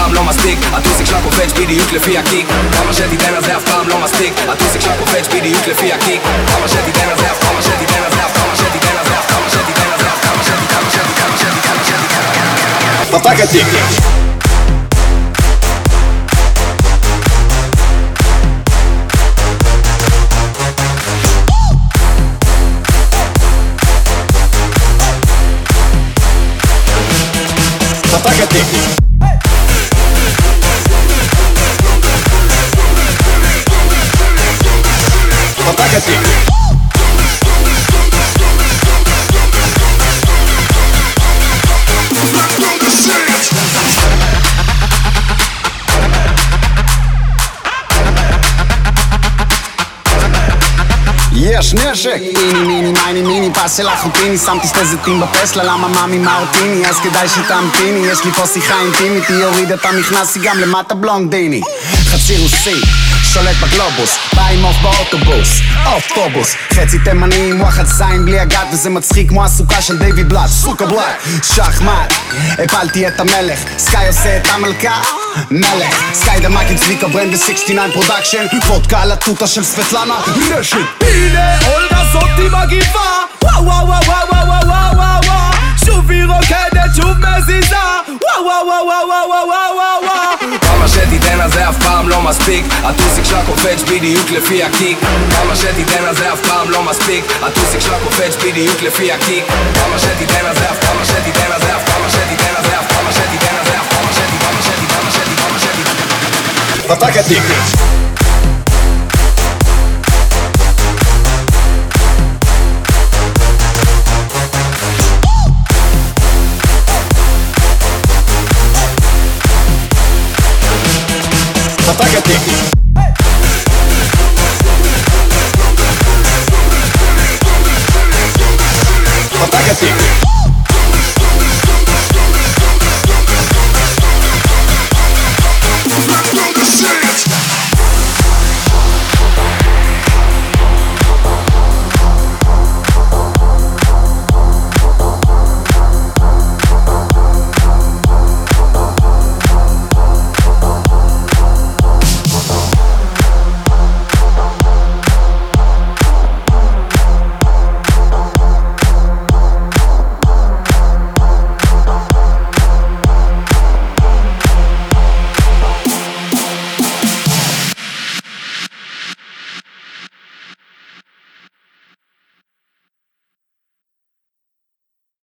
פעם לא מספיק, הטוסיק שלה קופץ בדיוק לפי הקיק. כמה שתיתן על זה אף פעם לא מספיק, הטוסיק שלה קופץ בדיוק לפי הקיק. כמה שתיתן על זה אף פעם, שתיתן על זה אף פעם, שתיתן על זה אף פעם, שתיתן על זה אף פעם, שתיתן פתק התיק. פתק התיק. פתק התיק. יש נשק! איני מיני מייני מיני פס של החוטיני, שמתי שתי זיתים בפסלה, למה מאמי מרטיני? אז כדאי שתמתיני, יש לי פה שיחה אינטימית, היא הורידה את המכנס, היא גם למטה בלונדיני. חצי רוסי, שולט בגלובוס, בא עם אוף באוטובוס, אוטובוס, חצי תימני עם וואחד זין בלי הגת, וזה מצחיק כמו הסוכה של דיוויד בלאט, סוכה בלאט, שחמט, הפלתי את המלך, סקאי עושה את המלכה, מלך, סקאי דמק עם צביקה ברנד ו-69 פרודקשן, וודקה על הטוטה של סבטלנה, נשק! הנה אולגה זאתי מגיבה, וואו וואו וואו וואו וואו וואו וואו, שוב היא רוקדת, שוב מזיזה, וואו וואו וואו וואו וואו וואו וואו. כמה שתיתן על זה אף פעם לא מספיק, הטוסיק שלה קופץ בדיוק לפי הקיק. כמה שתיתן על זה אף פעם לא מספיק, הטוסיק שלה קופץ בדיוק לפי הקיק. כמה שתיתן על זה אף פעם, שתיתן על זה אף פעם, שתיתן על זה אף פעם, שתיתן על זה אף פעם, שתיתן פתק התיק. פתק התיק.